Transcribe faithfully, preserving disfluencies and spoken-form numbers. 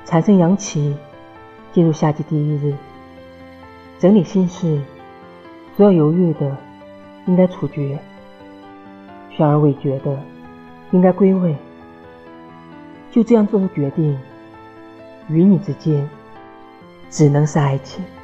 产生阳气，进入夏季第一日，整理心事，所有犹豫的应该处决，悬而未决的应该归位。就这样做出决定，与你之间只能是爱情。